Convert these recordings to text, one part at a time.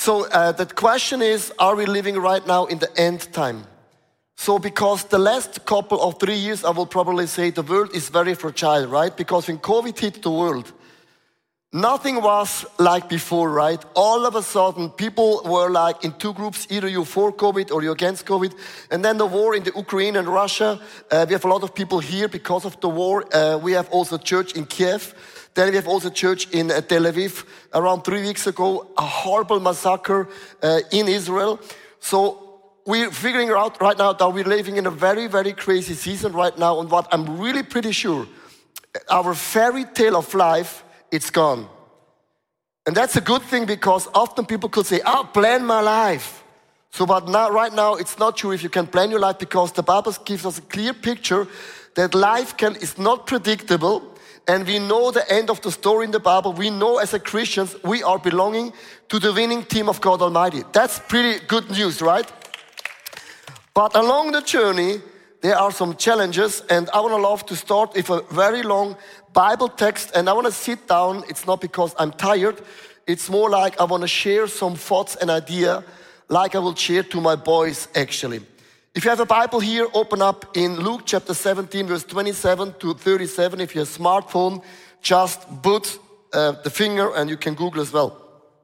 So the question is, are we living right now in the end time? So because the last couple of 3 years, I will probably say the world is very fragile, right? Because when COVID hit the world, nothing was like before, right? All of a sudden, people were like in two groups, either you're for COVID or you're against COVID. And then the war in the Ukraine and Russia, we have a lot of people here because of the war. We have also a church in Kiev. Then we have also a church in Tel Aviv. Around 3 weeks ago, a horrible massacre in Israel. So we're figuring out right now that we're living in a very, very crazy season right now. And what I'm really pretty sure, our fairy tale of life, it's gone. And that's a good thing because often people could say, plan my life. So but now, right now, it's not sure if you can plan your life because the Bible gives us a clear picture that life is not predictable. And we know the end of the story in the Bible. We know as a Christians, we are belonging to the winning team of God Almighty. That's pretty good news, right? But along the journey, there are some challenges, and I want to love to start with a very long Bible text, and I want to sit down. It's not because I'm tired. It's more like I want to share some thoughts and idea like I will share to my boys, actually. If you have a Bible here, open up in Luke chapter 17, verse 27 to 37. If you have a smartphone, just put the finger, and you can Google as well.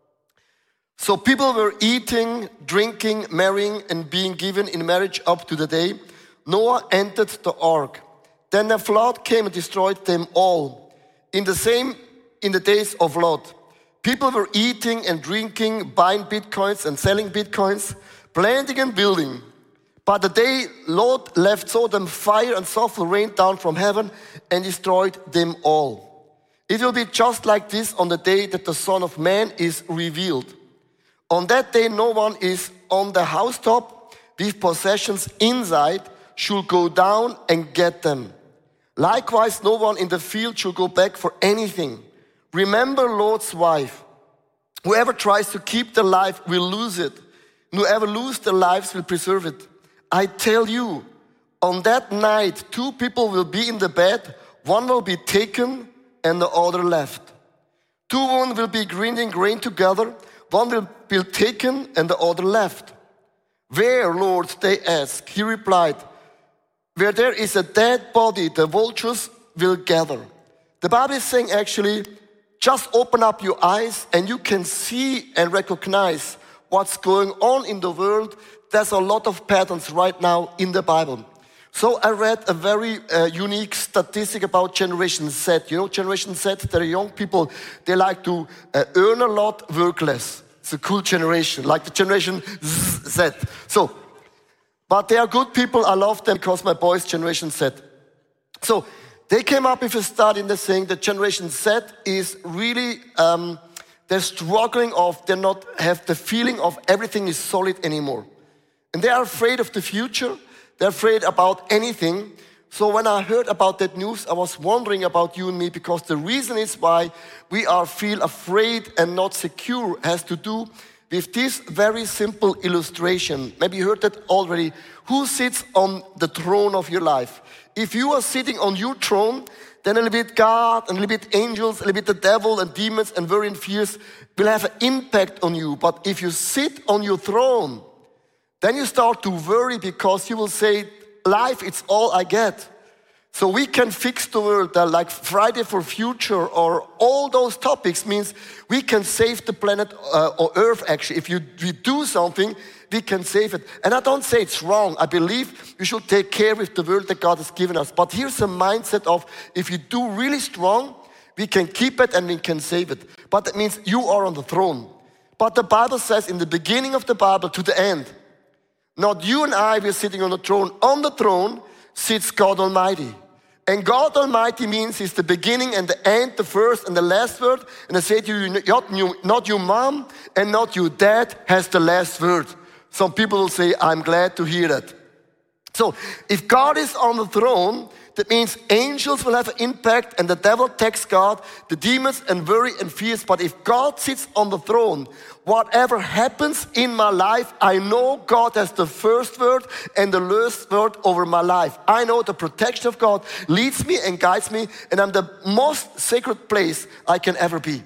So people were eating, drinking, marrying, and being given in marriage up to the day Noah entered the ark. Then the flood came and destroyed them all. In the days of Lot, people were eating and drinking, buying bitcoins and selling bitcoins, planting and building. But the day Lot left Sodom, fire and sulfur rained down from heaven and destroyed them all. It will be just like this on the day that the Son of Man is revealed. On that day, no one is on the housetop with possessions inside should go down and get them. Likewise, no one in the field should go back for anything. Remember Lot's wife. Whoever tries to keep their life will lose it. Whoever loses their lives will preserve it. I tell you, on that night, two people will be in the bed. One will be taken and the other left. Two women will be grinding grain together. One will be taken and the other left. Where, Lord, they asked. He replied, where there is a dead body, the vultures will gather. The Bible is saying actually, just open up your eyes and you can see and recognize what's going on in the world. There's a lot of patterns right now in the Bible. So I read a very unique statistic about Generation Z. You know, Generation Z, they're young people. They like to earn a lot, work less. It's a cool generation, like the Generation Z. But they are good people. I love them because my boys, Generation Z. So they came up with a study and they're saying that Generation Z is really, they're struggling they not have the feeling of everything is solid anymore. And they are afraid of the future. They're afraid about anything. So when I heard about that news, I was wondering about you and me because the reason is why we feel afraid and not secure has to do with this very simple illustration. Maybe you heard that already. Who sits on the throne of your life? If you are sitting on your throne, then a little bit God, and a little bit angels, a little bit the devil and demons and worry and fears will have an impact on you. But if you sit on your throne, then you start to worry because you will say, life, it's all I get. So we can fix the world, like Friday for Future or all those topics means we can save the planet or Earth actually. If we do something, we can save it. And I don't say it's wrong. I believe we should take care of the world that God has given us. But here's a mindset of if you do really strong, we can keep it and we can save it. But that means you are on the throne. But the Bible says in the beginning of the Bible to the end, not you and I, we're sitting on the throne. On the throne sits God Almighty. And God Almighty means He's the beginning and the end, the first and the last word. And I say to you, not your mom and not your dad has the last word. Some people will say, I'm glad to hear that. So if God is on the throne, that means angels will have an impact and the devil attacks God, the demons and worry and fears. But if God sits on the throne, whatever happens in my life, I know God has the first word and the last word over my life. I know the protection of God leads me and guides me, and I'm the most sacred place I can ever be.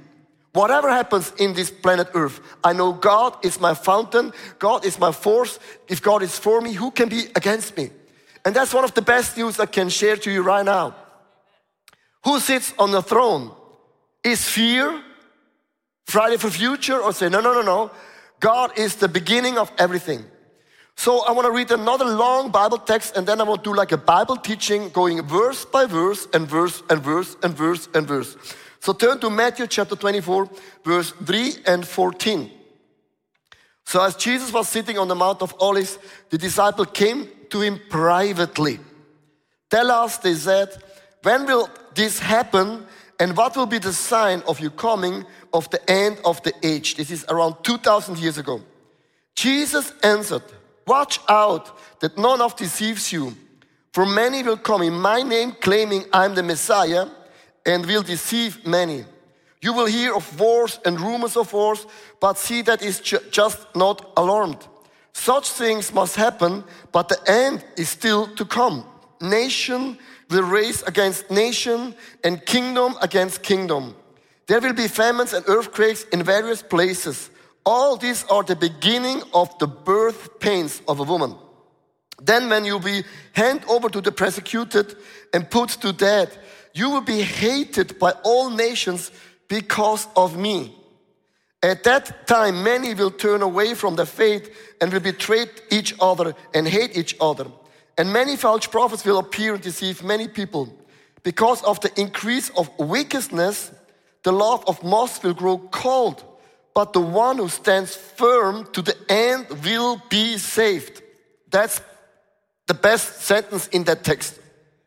Whatever happens in this planet Earth, I know God is my fountain, God is my force. If God is for me, who can be against me? And that's one of the best news I can share to you right now. Who sits on the throne? Is fear Friday for future, or say, no. God is the beginning of everything. So I want to read another long Bible text, and then I will do like a Bible teaching going verse by verse and verse and verse and verse and verse. So turn to Matthew chapter 24, verse 3 and 14. So as Jesus was sitting on the Mount of Olives, the disciple came to him privately. Tell us, they said, when will this happen, and what will be the sign of your coming of the end of the age? This is around 2,000 years ago. Jesus answered, watch out that none of deceives you. For many will come in my name claiming I'm the Messiah and will deceive many. You will hear of wars and rumors of wars, but see that is just not alarmed. Such things must happen, but the end is still to come. Nation will race against nation and kingdom against kingdom. There will be famines and earthquakes in various places. All these are the beginning of the birth pains of a woman. Then when you be handed over to the persecuted and put to death, you will be hated by all nations because of me. At that time, many will turn away from the faith and will betray each other and hate each other. And many false prophets will appear and deceive many people. Because of the increase of wickedness, the love of most will grow cold. But the one who stands firm to the end will be saved. That's the best sentence in that text.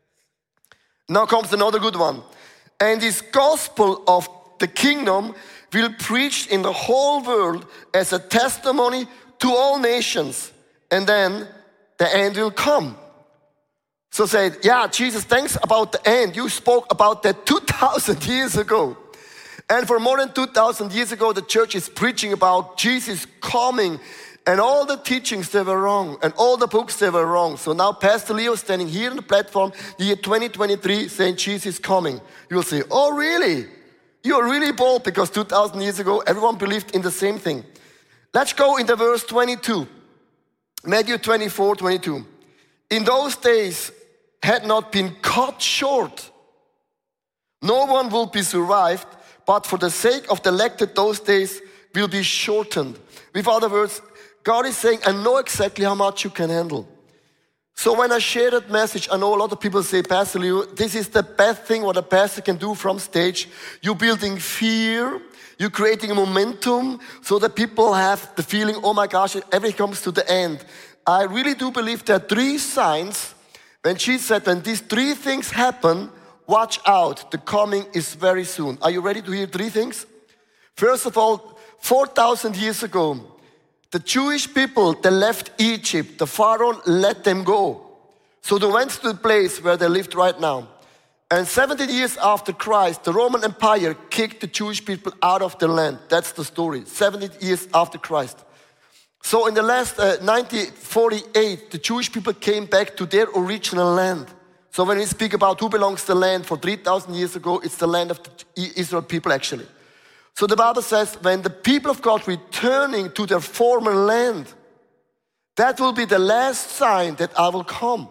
Now comes another good one. And this gospel of the kingdom will be preached in the whole world as a testimony to all nations. And then the end will come. So say, yeah, Jesus, thanks about the end. You spoke about that 2,000 years ago. And for more than 2,000 years ago, the church is preaching about Jesus coming. And all the teachings, they were wrong. And all the books, they were wrong. So now Pastor Leo standing here on the platform, the year 2023, saying Jesus is coming. You will say, oh really? You're really bold, because 2,000 years ago, everyone believed in the same thing. Let's go into verse 22. Matthew 24, 22. In those days had not been cut short. No one will be survived, but for the sake of the elected, those days will be shortened. With other words, God is saying, I know exactly how much you can handle. So when I share that message, I know a lot of people say, Pastor Leo, this is the best thing what a pastor can do from stage. You're building fear, you're creating a momentum so that people have the feeling, oh my gosh, everything comes to the end. I really do believe there are three signs. When Jesus said, when these three things happen, watch out, the coming is very soon. Are you ready to hear three things? First of all, 4,000 years ago, the Jewish people, they left Egypt. The Pharaoh let them go. So they went to the place where they lived right now. And 70 years after Christ, the Roman Empire kicked the Jewish people out of the land. That's the story, 70 years after Christ. So in the last 1948, the Jewish people came back to their original land. So when we speak about who belongs to the land for 3,000 years ago, it's the land of the Israel people actually. So the Bible says when the people of God returning to their former land, that will be the last sign that I will come.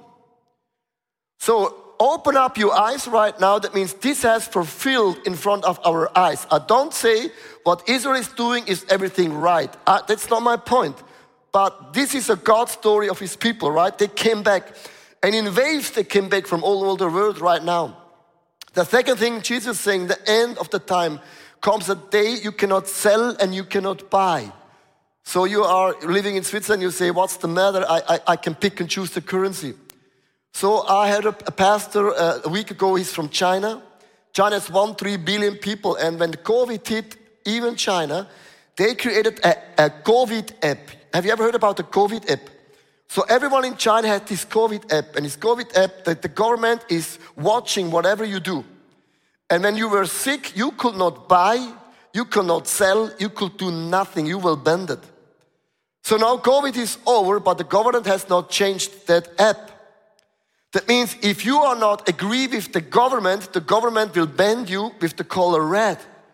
So open up your eyes right now. That means this has fulfilled in front of our eyes. I don't say what Israel is doing is everything right. That's not my point. But this is a God story of his people, right? They came back. And in waves they came back from all over the world right now. The second thing Jesus is saying, the end of the time comes a day you cannot sell and you cannot buy. So you are living in Switzerland, you say, what's the matter? I can pick and choose the currency. So I had a pastor a week ago, he's from China. China has 1.3 billion people, and when COVID hit even China, they created a COVID app. Have you ever heard about the COVID app? So everyone in China has this COVID app, and this COVID app that the government is watching whatever you do. And when you were sick, you could not buy, you could not sell, you could do nothing, you were banned. So now COVID is over, but the government has not changed that app. That means if you are not agree with the government will ban you with the color red.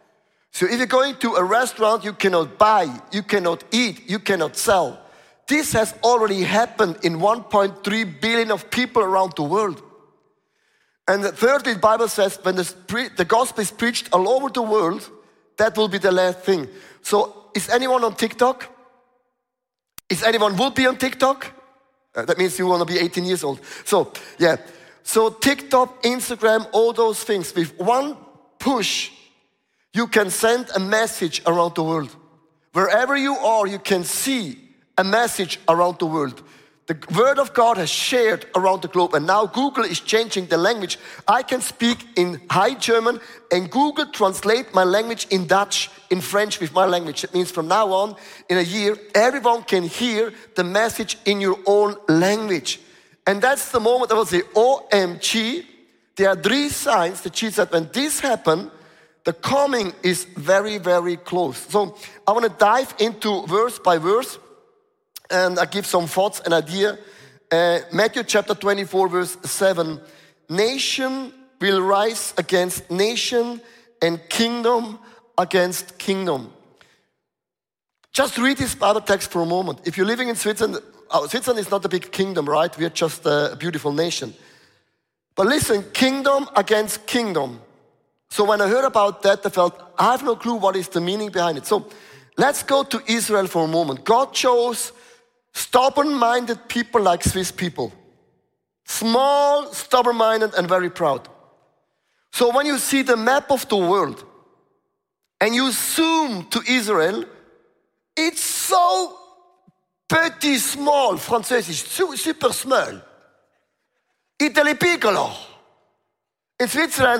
So if you're going to a restaurant, you cannot buy, you cannot eat, you cannot sell. This has already happened in 1.3 billion of people around the world. And thirdly, the Bible says when the gospel is preached all over the world, that will be the last thing. So is anyone on TikTok? Is anyone will be on TikTok? That means you want to be 18 years old. So, yeah. So TikTok, Instagram, all those things. With one push, you can send a message around the world. Wherever you are, you can see a message around the world. The word of God has shared around the globe, and now Google is changing the language. I can speak in High German, and Google translate my language in Dutch, in French with my language. It means from now on, in a year, everyone can hear the message in your own language. And that's the moment I will say, OMG, there are 3 signs that Jesus said, when this happens, the coming is very, very close. So I want to dive into verse by verse, and I give some thoughts and idea. Matthew chapter 24, verse 7. Nation will rise against nation and kingdom against kingdom. Just read this Bible text for a moment. If you're living in Switzerland, Switzerland is not a big kingdom, right? We are just a beautiful nation. But listen, kingdom against kingdom. So when I heard about that, I felt, I have no clue what is the meaning behind it. So let's go to Israel for a moment. God chose stubborn-minded people like Swiss people. Small, stubborn-minded, and very proud. So when you see the map of the world and you zoom to Israel, it's so petit, small, Französisch, super small. Italy piccolo. In Switzerland,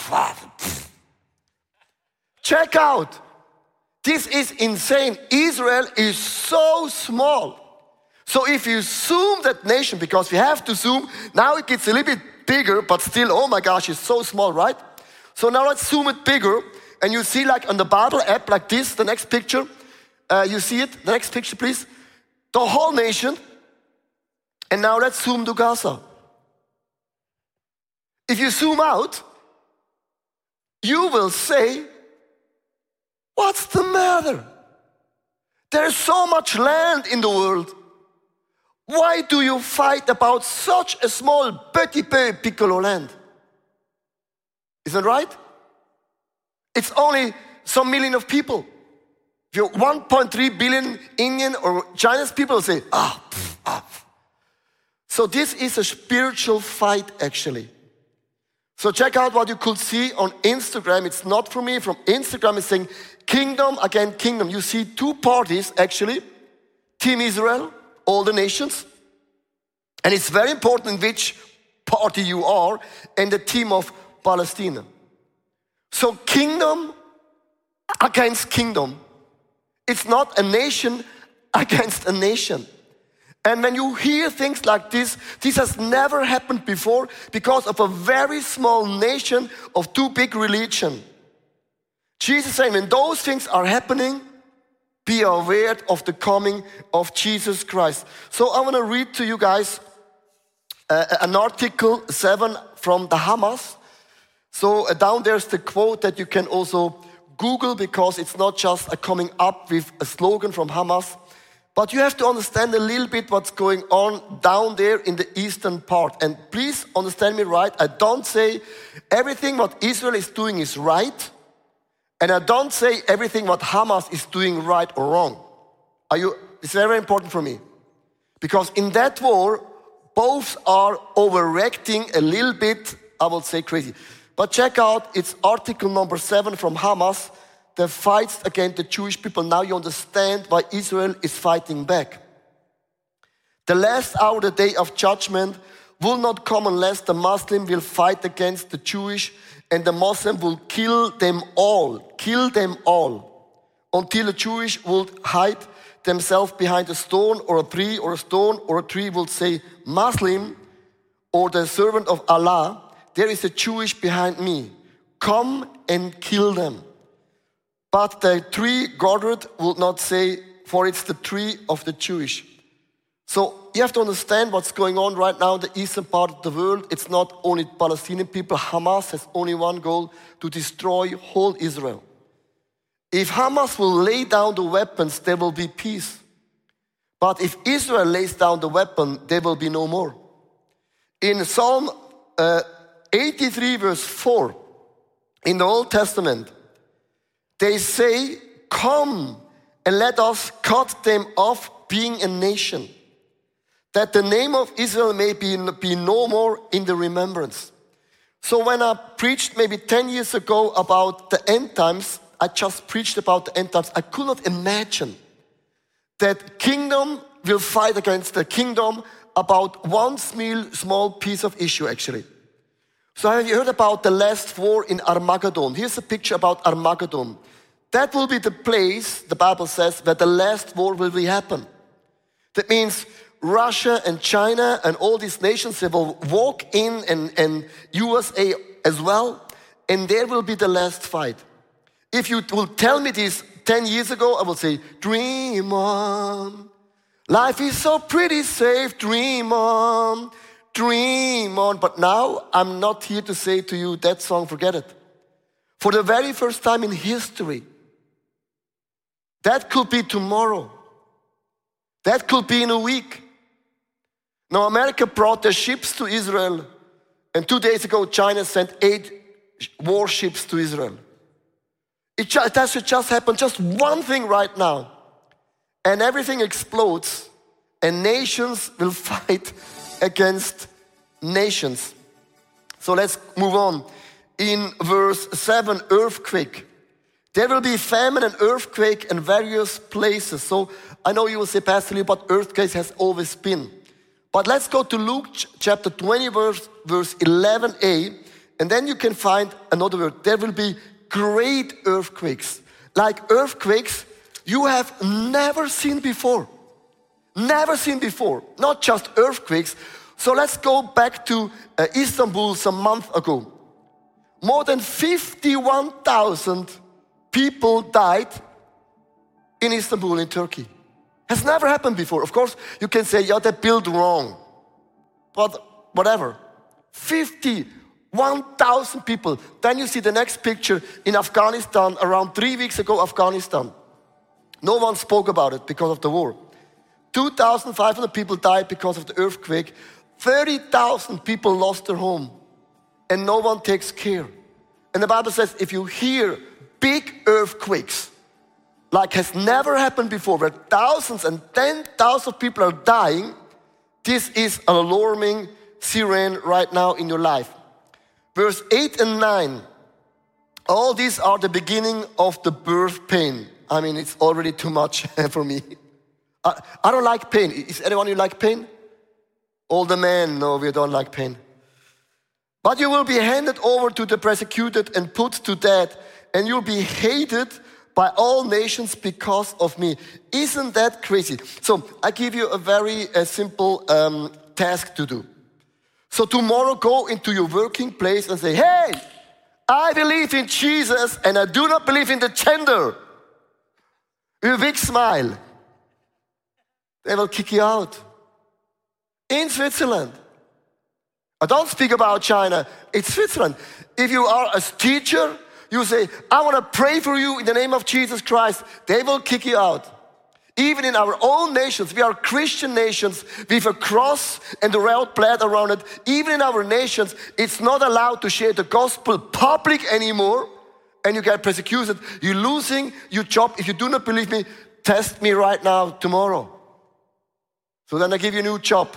check out. This is insane. Israel is so small. So if you zoom that nation, because we have to zoom, now it gets a little bit bigger, but still, oh my gosh, it's so small, right? So now let's zoom it bigger, and you see like on the Bible app like this, the next picture, you see it, the next picture please, the whole nation, and now let's zoom to Gaza. If you zoom out, you will say, what's the matter? There's so much land in the world. Why do you fight about such a small petit peu piccolo land? Isn't that right? It's only some million of people. If you're 1.3 billion Indian or Chinese people say, So this is a spiritual fight actually. So check out what you could see on Instagram. It's not from me, from Instagram. It's saying kingdom against kingdom. You see 2 parties actually. Team Israel, all the nations. And it's very important which party you are, and the team of Palestine. So kingdom against kingdom. It's not a nation against a nation. And when you hear things like this has never happened before because of a very small nation of 2 big religions. Jesus is saying, when those things are happening, be aware of the coming of Jesus Christ. So I want to read to you guys an article 7 from the Hamas. So down there's the quote that you can also Google, because it's not just a coming up with a slogan from Hamas, but you have to understand a little bit what's going on down there in the eastern part. And please understand me right, I don't say everything what Israel is doing is right, and I don't say everything what Hamas is doing right or wrong. It's very important for me. Because in that war, both are overreacting a little bit, I would say crazy. But check out, it's article number 7 from Hamas, the fights against the Jewish people. Now you understand why Israel is fighting back. The last hour, the day of judgment, will not come unless the Muslim will fight against the Jewish, and the Muslim will kill them all, until the Jewish will hide themselves behind a stone or a tree, or a stone or a tree will say, Muslim, or the servant of Allah, there is a Jewish behind me. Come and kill them. But the tree gathered will not say, for it's the tree of the Jewish. So you have to understand what's going on right now in the eastern part of the world. It's not only Palestinian people. Hamas has only one goal, to destroy whole Israel. If Hamas will lay down the weapons, there will be peace. But if Israel lays down the weapon, there will be no more. In Psalm 83 verse 4, in the Old Testament, they say, come and let us cut them off being a nation, that the name of Israel may be no more in the remembrance. So when I preached maybe 10 years ago about the end times, I just preached about the end times. I could not imagine that kingdom will fight against the kingdom about one small piece of issue actually. So have you heard about the last war in Armageddon? Here's a picture about Armageddon. That will be the place, the Bible says, where the last war will happen. That means Russia and China and all these nations, they will walk in and USA as well, and there will be the last fight. If you will tell me this 10 years ago, I will say, dream on. Life is so pretty safe, dream on, dream on. But now, I'm not here to say to you, that song, forget it. For the very first time in history, that could be tomorrow. That could be in a week. Now, America brought their ships to Israel, and 2 days ago, China sent 8 warships to Israel. That should just happen, just one thing right now. And everything explodes, and nations will fight against nations. So let's move on. In verse 7, earthquake. There will be famine and earthquake in various places. So I know you will say, Pastor Leo, but earthquakes has always been. But let's go to Luke chapter 20, verse 11a, and then you can find another word. There will be great earthquakes, like earthquakes you have never seen before. Never seen before, not just earthquakes. So let's go back to Istanbul some month ago. More than 51,000 people died in Istanbul in Turkey. Has never happened before. Of course, you can say, yeah, they built wrong. But whatever. 51,000 people. Then you see the next picture in Afghanistan, around 3 weeks ago, Afghanistan. No one spoke about it because of the war. 2,500 people died because of the earthquake. 30,000 people lost their home. And no one takes care. And the Bible says, if you hear big earthquakes, like has never happened before, where thousands and 10,000 people are dying, this is an alarming siren right now in your life. Verse 8 and 9, all these are the beginning of the birth pain. I mean, it's already too much for me. I don't like pain. Is anyone who like pain? All the men, no, we don't like pain. But you will be handed over to the persecuted and put to death, and you'll be hated by all nations because of me. Isn't that crazy? So I give you a very simple task to do. So tomorrow go into your working place and say, hey, I believe in Jesus and I do not believe in the gender. With a big smile. They will kick you out. In Switzerland. I don't speak about China. It's Switzerland. If you are a teacher, you say, I want to pray for you in the name of Jesus Christ. They will kick you out. Even in our own nations, we are Christian nations with a cross and the red plaid around it. Even in our nations, it's not allowed to share the gospel public anymore. And you get persecuted. You're losing your job. If you do not believe me, test me right now, tomorrow. So then I give you a new job.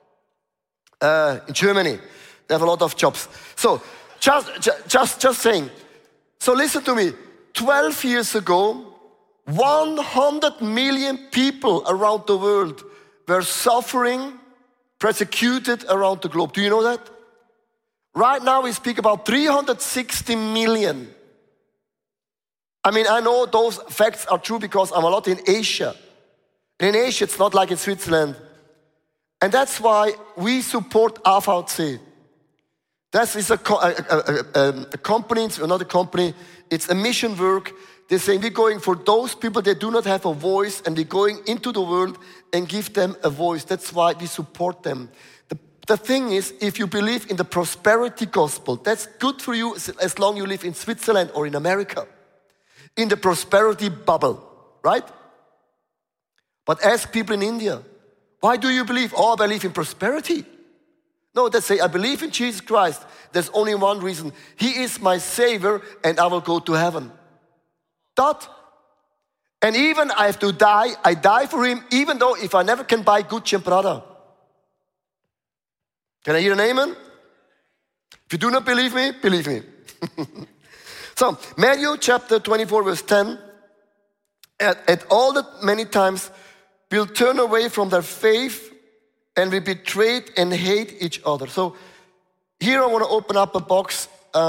In Germany, they have a lot of jobs. So just saying. So listen to me. 12 years ago, 100 million people around the world were suffering, persecuted around the globe. Do you know that? Right now we speak about 360 million. I mean, I know those facts are true because I'm a lot in Asia. And in Asia, it's not like in Switzerland. And that's why we support AVC. That is a company, it's not a company, it's a mission work. They're saying we're going for those people that do not have a voice, and we're going into the world and give them a voice. That's why we support them. The thing is, if you believe in the prosperity gospel, that's good for you as long as you live in Switzerland or in America. in the prosperity bubble, right? But ask people in India, why do you believe? Oh, I believe in prosperity. No, they say, I believe in Jesus Christ. There's only one reason. He is my Savior and I will go to heaven. Dot. And even I have to die, I die for Him, even though if I never can buy Gucci and Prada. Can I hear an amen? If you do not believe me, believe me. So, Matthew chapter 24 verse 10, at all that many times will turn away from their faith and we betrayed and hate each other. So here I want to open up a box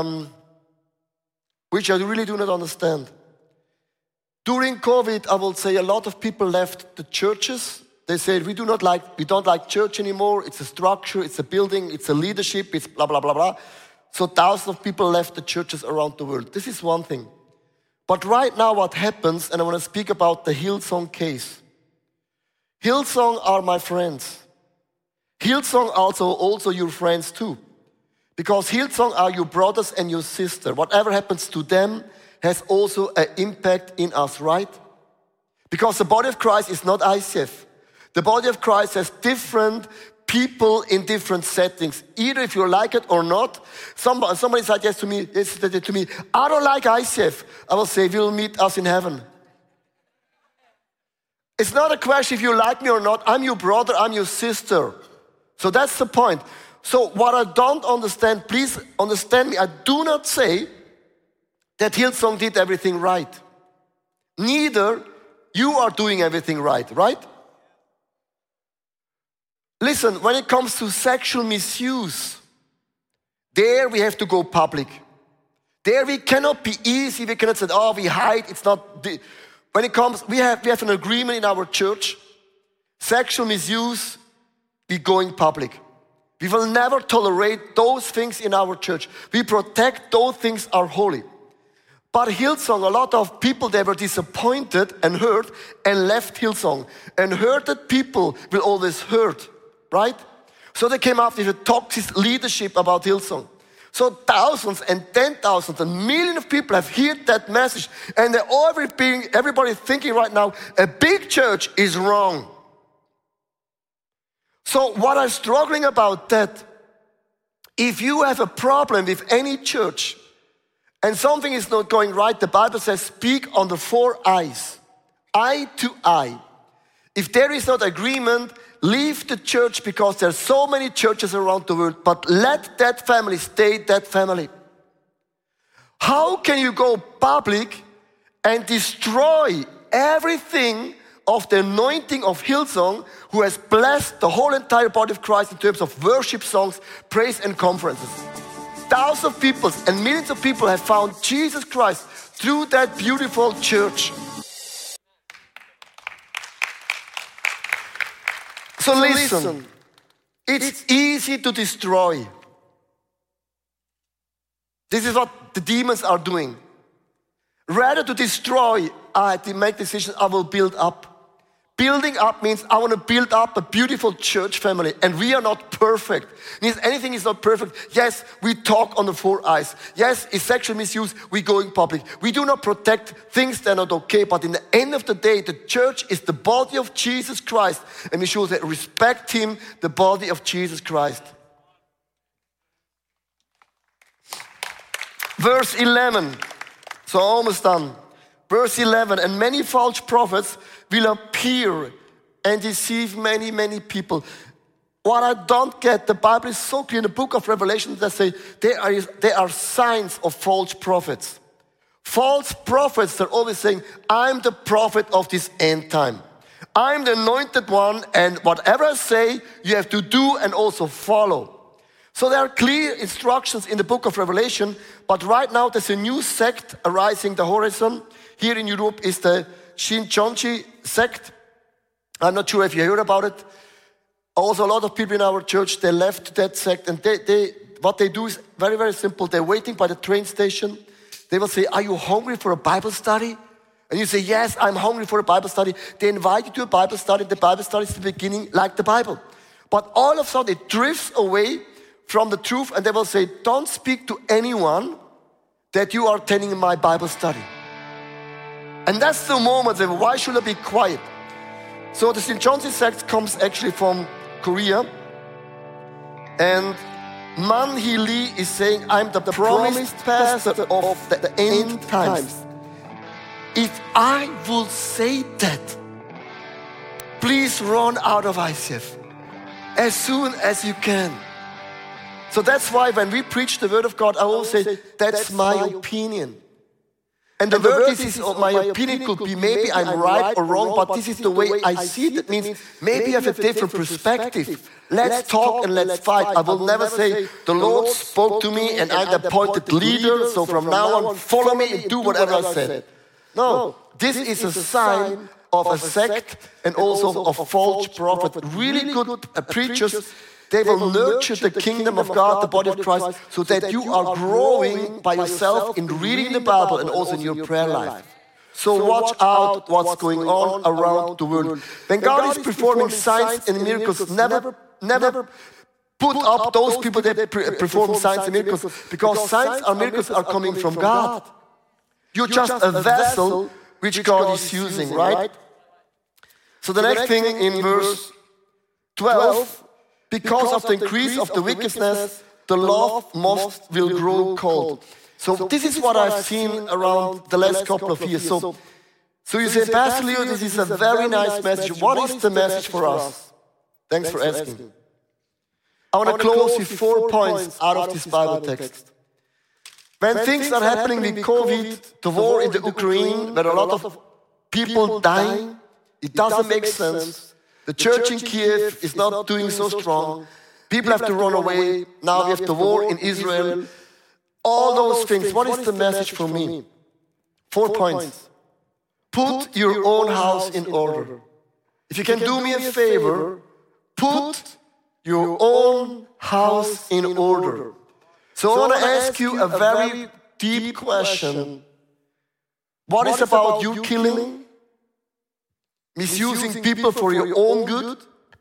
which I really do not understand. During COVID, I will say a lot of people left the churches. They said, we don't like church anymore. It's a structure, it's a building, it's a leadership, it's blah, blah, blah, blah. So thousands of people left the churches around the world. This is one thing. But right now what happens, and I want to speak about the Hillsong case. Hillsong are my friends. Hillsong also your friends too. Because Hillsong are your brothers and your sister. Whatever happens to them has also an impact in us, right? Because the body of Christ is not ICF. The body of Christ has different people in different settings. Either if you like it or not. Somebody said yesterday to me, I don't like ICF. I will say, we'll meet us in heaven. It's not a question if you like me or not. I'm your brother, I'm your sister. So that's the point. So what I don't understand, please understand me. I do not say that Hillsong did everything right. Neither you are doing everything right, right? Listen, when it comes to sexual misuse, there we have to go public. There we cannot be easy. We cannot say, oh, we hide. It's not. When it comes, we have an agreement in our church. Sexual misuse, we going public. We will never tolerate those things in our church. We protect those things are holy. But Hillsong, a lot of people, they were disappointed and hurt and left Hillsong. And hurted people will always hurt, right? So they came up with a toxic leadership about Hillsong. So thousands and 10,000 and millions of people have heard that message. And everybody thinking right now, a big church is wrong. So what I'm struggling about that, if you have a problem with any church and something is not going right, the Bible says speak on the 4 eyes, eye to eye. If there is not agreement, leave the church because there are so many churches around the world, but let that family stay that family. How can you go public and destroy everything of the anointing of Hillsong, who has blessed the whole entire body of Christ in terms of worship songs, praise and conferences? Thousands of people and millions of people have found Jesus Christ through that beautiful church. So listen, it's easy to destroy. This is what the demons are doing. Rather to destroy, I had to make decisions, I will build up. Building up means I want to build up a beautiful church family, and we are not perfect. It means anything is not perfect. Yes, we talk on the 4 eyes. Yes, if sexual misuse, we go in public. We do not protect things that are not okay, but in the end of the day, the church is the body of Jesus Christ, and we should respect Him, the body of Jesus Christ. Verse 11, so almost done. Verse 11, and many false prophets will appear and deceive many, many people. What I don't get, the Bible is so clear in the book of Revelation that say there are signs of false prophets. False prophets, they're always saying, I'm the prophet of this end time. I'm the anointed one, and whatever I say, you have to do and also follow. So there are clear instructions in the book of Revelation, but right now there's a new sect arising the horizon. Here in Europe is the Shincheonji sect. I'm not sure if you heard about it. Also, a lot of people in our church, they left that sect, and what they do is very, very simple. They're waiting by the train station. They will say, are you hungry for a Bible study? And you say, yes, I'm hungry for a Bible study. They invite you to a Bible study. The Bible study is the beginning like the Bible. But all of a sudden, it drifts away from the truth, and they will say, don't speak to anyone that you are attending my Bible study. And that's the moment that, why should I be quiet? So the St. John's sect comes actually from Korea. And Man Hee Lee is saying, I'm the promised pastor of the end times. If I will say that, please run out of ICF as soon as you can. So that's why when we preach the word of God, I always say, that's my opinion. And the word is my opinion could be maybe I'm right or wrong, but this is the way I see it. It means maybe I have a different perspective. Let's talk and let's fight. I will never say, the Lord spoke to me and I'm the appointed leader, so from now on, follow me and do whatever I said. No, this is a sign of a sect and also of false prophets. Really good preachers, they will nurture the kingdom of God, the body of Christ, so that you are growing by yourself in reading the Bible and also in your prayer life. So watch out what's going on around the world. When God is performing signs and miracles, never put up those people that perform signs and miracles, because signs and miracles are coming from God. You're just a vessel which God is using, right? So the next thing in verse 12, because of the increase of the wickedness, the love will grow cold. So this is what I've seen around the last couple of years. So you say, Pastor Leo, this is a very nice message. What is the message for us? Thanks for asking. I want to close with 4 points out of this Bible text. When things are happening with COVID, the war in the Ukraine, where a lot of people dying, it doesn't make sense. The church in Kiev is not doing so strong. People have to run away. Now we have the war in Israel. All those things. What is the message for me? 4 points. Put your own house in order. If you can do me a favor, put your own house in order. So I want to ask you a very deep question. What is about you killing? Misusing people for your own good?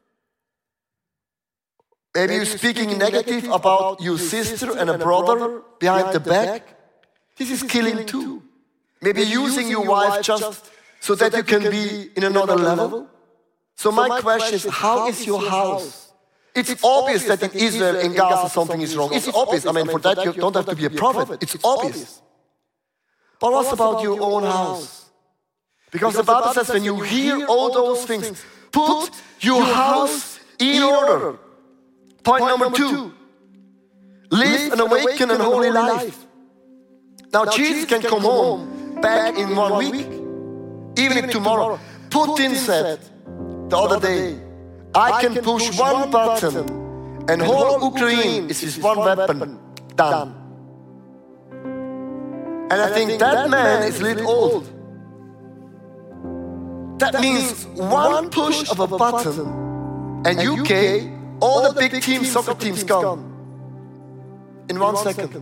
Maybe you're speaking negative about your sister and a brother behind the back? This is killing too. Maybe using your wife just so that you can be in another level? So my question is, how is your house? It's obvious that in Israel, in Gaza, something is wrong. It's obvious. I mean, for that you don't have to be a prophet. It's obvious. But what's about your own house? Because the Bible says when you hear all those things, put your house in order. Point number 2, live an awakened and holy life. Now Jesus can come home back in 1 week, even if tomorrow. Putin said the other day, I can push one button and whole Ukraine is with one weapon, done. And I think that man is a little old. That means one push of a button and UK, all the big teams, soccer teams gone in 1 second.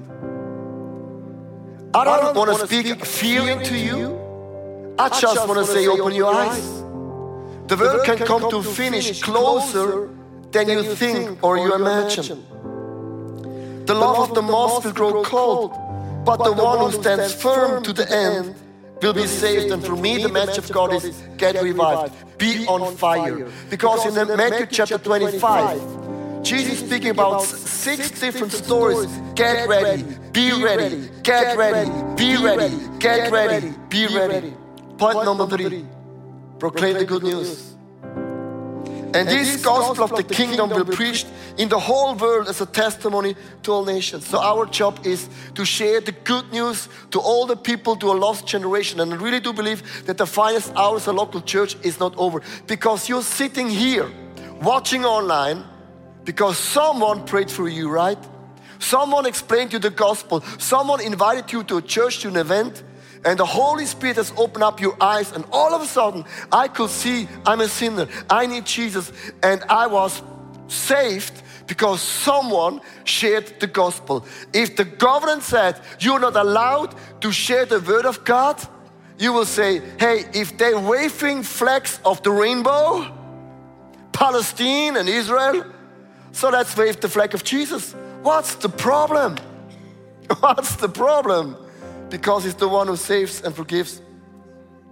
I don't want to speak fear into you. I just want to say open your eyes. The world can come to finish closer than you think or you imagine. The love of the most will grow cold, but the one who stands firm to the end will be saved. And for me, the message of God is get revived, be on fire. Because in Matthew chapter 25, Jesus is speaking about 6 different stories. Get ready, be ready, get ready, be ready, get ready, be ready. Point number 3, proclaim the good news. And this gospel of the kingdom will be preached in the whole world as a testimony to all nations. So our job is to share the good news to all the people, to a lost generation. And I really do believe that the finest hours of local church is not over. Because you're sitting here, watching online, because someone prayed for you, right? Someone explained you the gospel. Someone invited you to a church, to an event. And the Holy Spirit has opened up your eyes, and all of a sudden I could see I'm a sinner, I need Jesus, and I was saved because someone shared the gospel. If the government said you're not allowed to share the word of God, you will say, hey, if they're waving flags of the rainbow, Palestine and Israel, so let's wave the flag of Jesus. What's the problem? What's the problem? Because He's the one who saves and forgives.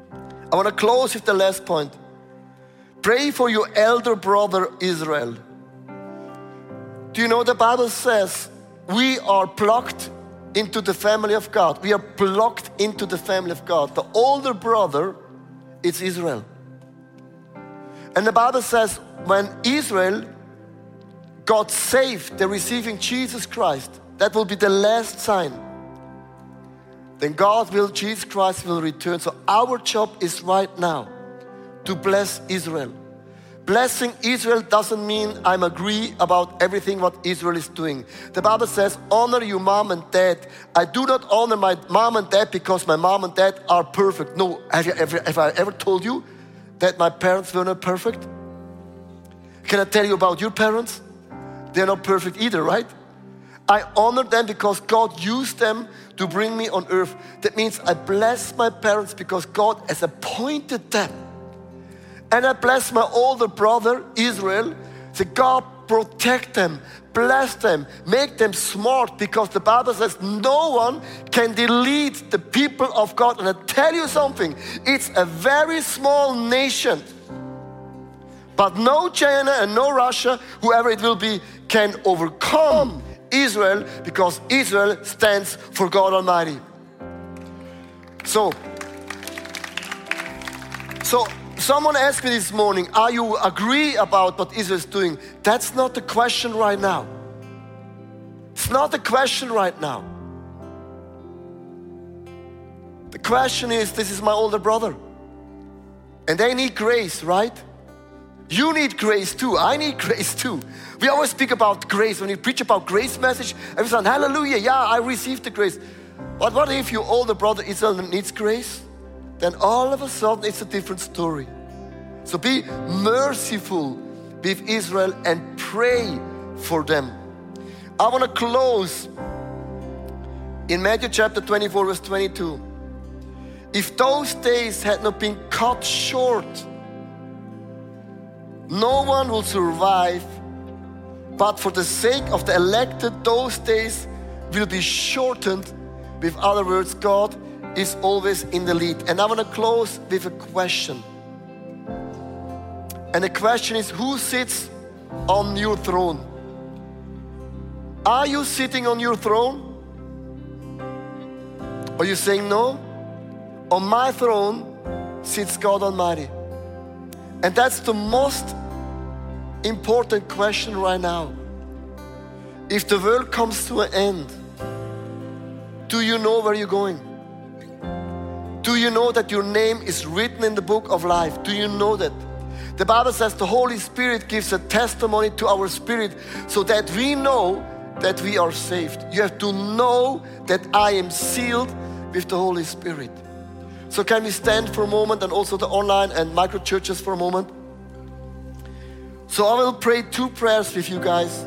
I want to close with the last point. Pray for your elder brother Israel. Do you know the Bible says we are plucked into the family of God. We are plucked into the family of God. The older brother is Israel. And the Bible says when Israel got saved, they're receiving Jesus Christ. That will be the last sign. Then Jesus Christ will return. So our job is right now to bless Israel. Blessing Israel doesn't mean I'm agree about everything what Israel is doing. The Bible says, honor your mom and dad. I do not honor my mom and dad because my mom and dad are perfect. No, have I ever told you that my parents were not perfect? Can I tell you about your parents? They're not perfect either, right? I honor them because God used them to bring me on earth. That means I bless my parents because God has appointed them. And I bless my older brother, Israel. So God protect them, bless them, make them smart, because the Bible says no one can delete the people of God. And I tell you something, it's a very small nation. But no China and no Russia, whoever it will be, can overcome Israel, because Israel stands for God Almighty. So someone asked me this morning, are you agree about what Israel is doing? That's not the question right now. It's not the question right now. The question is, this is my older brother. And they need grace, right? You need grace too. I need grace too. We always speak about grace. When you preach about grace message, everyone's like, hallelujah, yeah, I received the grace. But what if your older brother Israel needs grace? Then all of a sudden it's a different story. So be merciful with Israel and pray for them. I want to close in Matthew chapter 24, verse 22. If those days had not been cut short, no one will survive, but for the sake of the elected, those days will be shortened. With other words, God is always in the lead. And I want to close with a question. And the question is, who sits on your throne? Are you sitting on your throne? Are you saying no? On my throne sits God Almighty. And that's the most important question right now. If the world comes to an end, do you know where you're going? Do you know that your name is written in the book of life? Do you know that? The Bible says the Holy Spirit gives a testimony to our spirit so that we know that we are saved. You have to know that I am sealed with the Holy Spirit. So can we stand for a moment, and also the online and micro churches for a moment? So I will pray two prayers with you guys.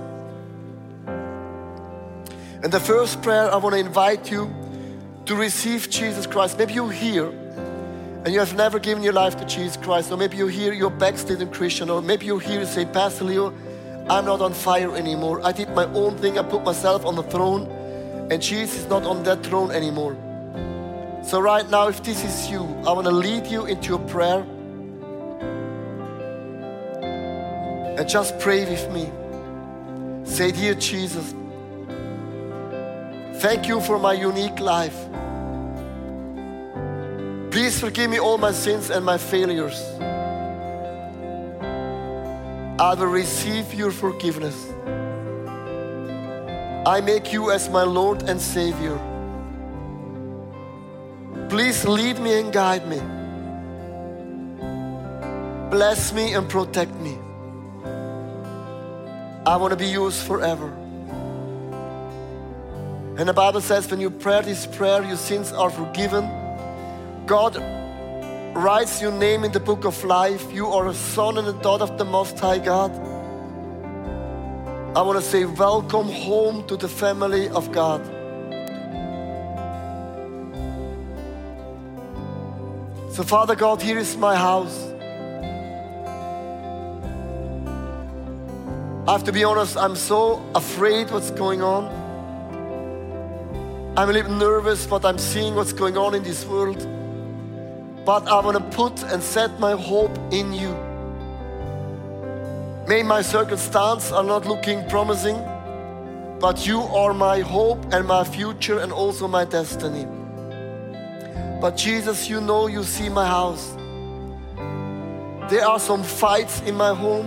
And the first prayer, I want to invite you to receive Jesus Christ. Maybe you're here and you have never given your life to Jesus Christ. Or maybe you're here, you're a backslidden Christian. Or maybe you're here and say, Pastor Leo, I'm not on fire anymore. I did my own thing. I put myself on the throne. And Jesus is not on that throne anymore. So right now, if this is you, I want to lead you into a prayer. And just pray with me. Say, dear Jesus, thank you for my unique life. Please forgive me all my sins and my failures. I will receive your forgiveness. I make you as my Lord and Savior. Please lead me and guide me. Bless me and protect me. I want to be yours forever. And the Bible says when you pray this prayer, your sins are forgiven. God writes your name in the book of life. You are a son and a daughter of the Most High God. I want to say welcome home to the family of God. So Father God, here is my house. I have to be honest, I'm so afraid what's going on. I'm a little nervous what I'm seeing, what's going on in this world. but I want to put and set my hope in you. May my circumstances are not looking promising, but you are my hope and my future and also my destiny. But Jesus, you know, you see my house. There are some fights in my home,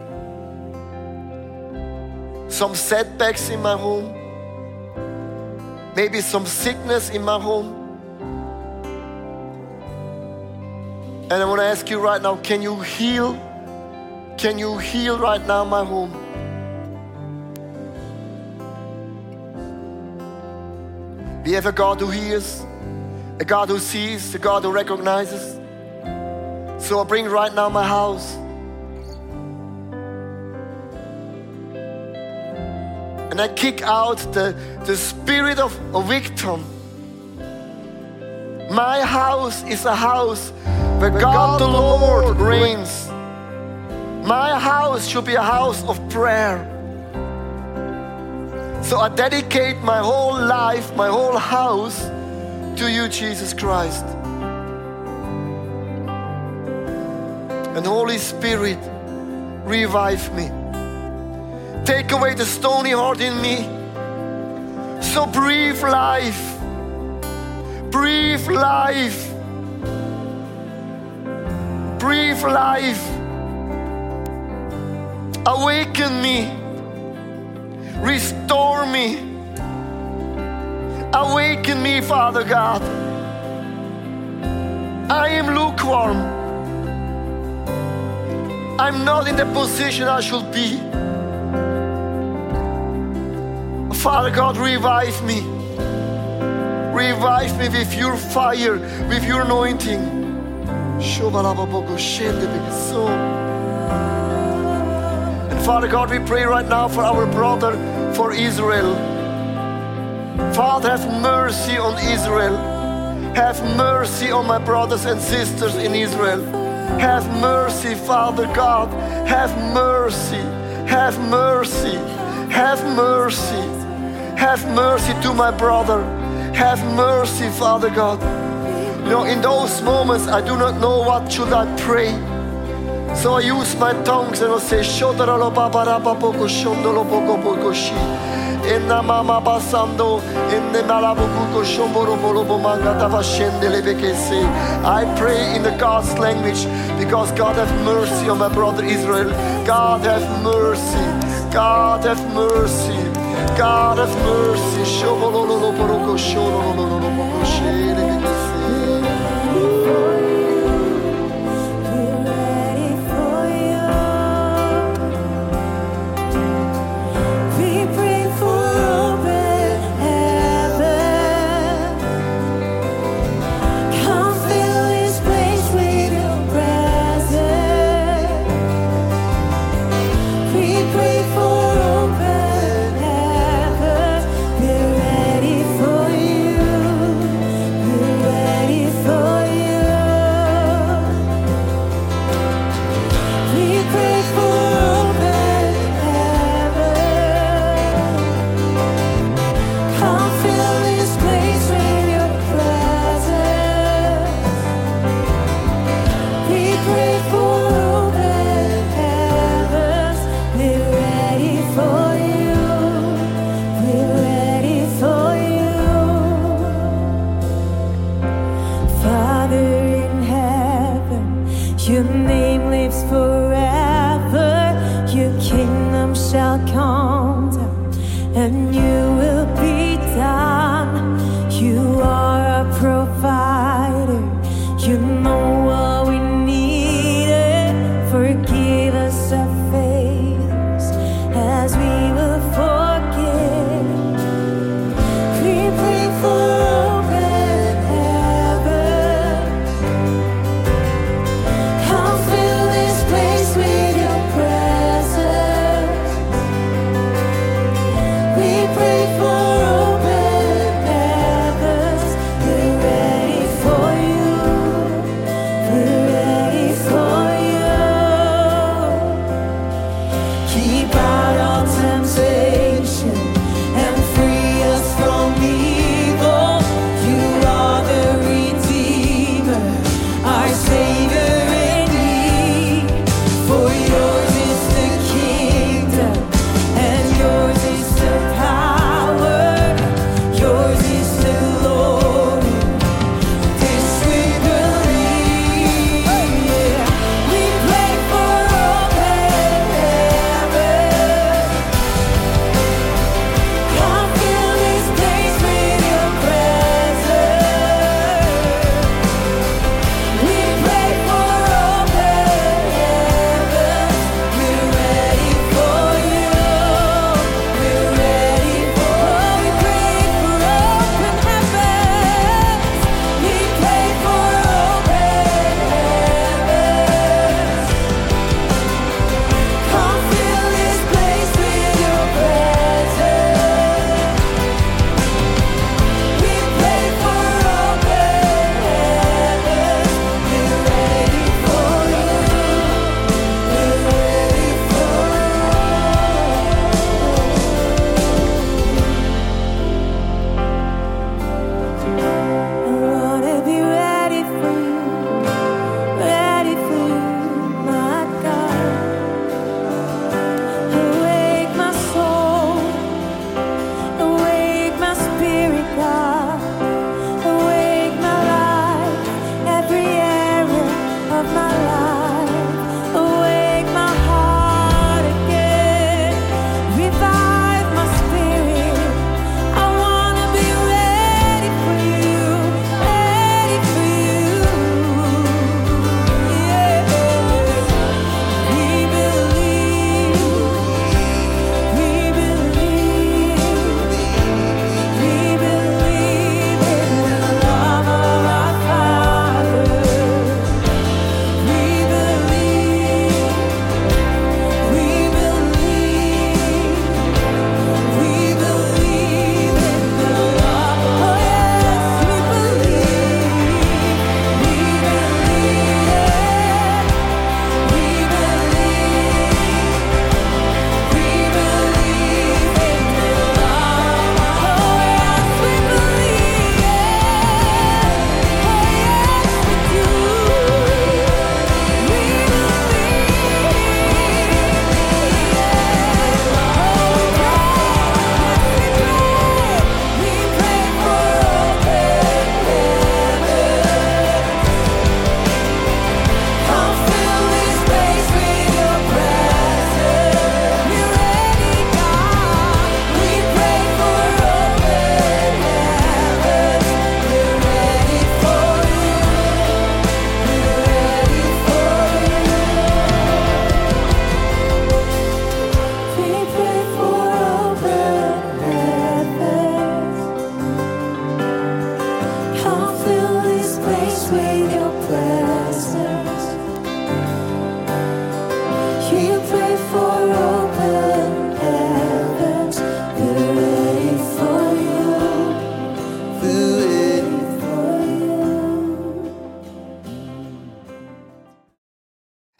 some setbacks in my home, maybe some sickness in my home. And I want to ask you right now, can you heal? Can you heal right now my home? We have a God who hears, a God who sees, a God who recognizes. So I bring right now my house. And I kick out the spirit of a victim. My house is a house where God the Lord reigns. My house should be a house of prayer. So I dedicate my whole life, my whole house to you, Jesus Christ. And Holy Spirit, revive me. Take away the stony heart in me. So breathe life. Breathe life. Breathe life. Awaken me. Restore me. Awaken me, Father God. I am lukewarm. I'm not in the position I should be. Father God, revive me. Revive me with your fire, with your anointing. And Father God, we pray right now for our brother, for Israel. Father, have mercy on Israel. Have mercy on my brothers and sisters in Israel. Have mercy, Father God. Have mercy. Have mercy. Have mercy. Have mercy to my brother. Have mercy, Father God. You know, in those moments, I do not know what should I pray. So I use my tongues and I say, Shodaralo babarabapoko shondolo boko shi. Inna mama basando, inna malabuko shomboro bolobo manga tavashendele bekese. I pray in the God's language because God have mercy on my brother Israel. God have mercy. God have mercy. God have mercy. Shobololo boroko shololo boko shele bekese. Your name lives forever. Your kingdom shall come down, and you will be done. You are our provider. You know what we needed. Forgive us our failures as we will forgive. We pray for open heavens. Come fill this place with your presence. We pray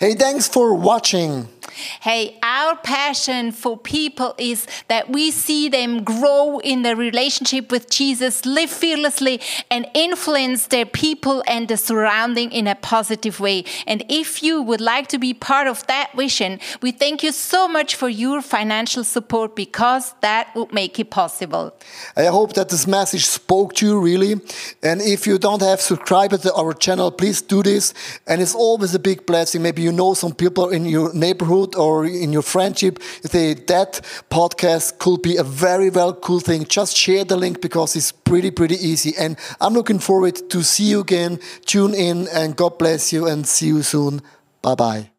Hey, thanks for watching. Hey, our passion for people is that we see them grow in their relationship with Jesus, live fearlessly, and influence their people and the surrounding in a positive way. And if you would like to be part of that vision, we thank you so much for your financial support, because that would make it possible. I hope that this message spoke to you really. And if you don't have subscribed to our channel, please do this. And it's always a big blessing. Maybe you know some people in your neighborhood or in your friendship. You say that podcast could be a very cool thing. Just share the link, because it's pretty easy. And I'm looking forward to see you again. Tune in, and God bless you, and see you soon. Bye-bye.